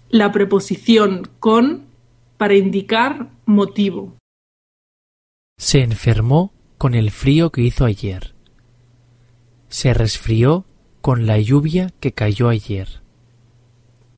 la preposición con para indicar motivo. Se enfermó con el frío que hizo ayer. Se resfrió con la lluvia que cayó ayer.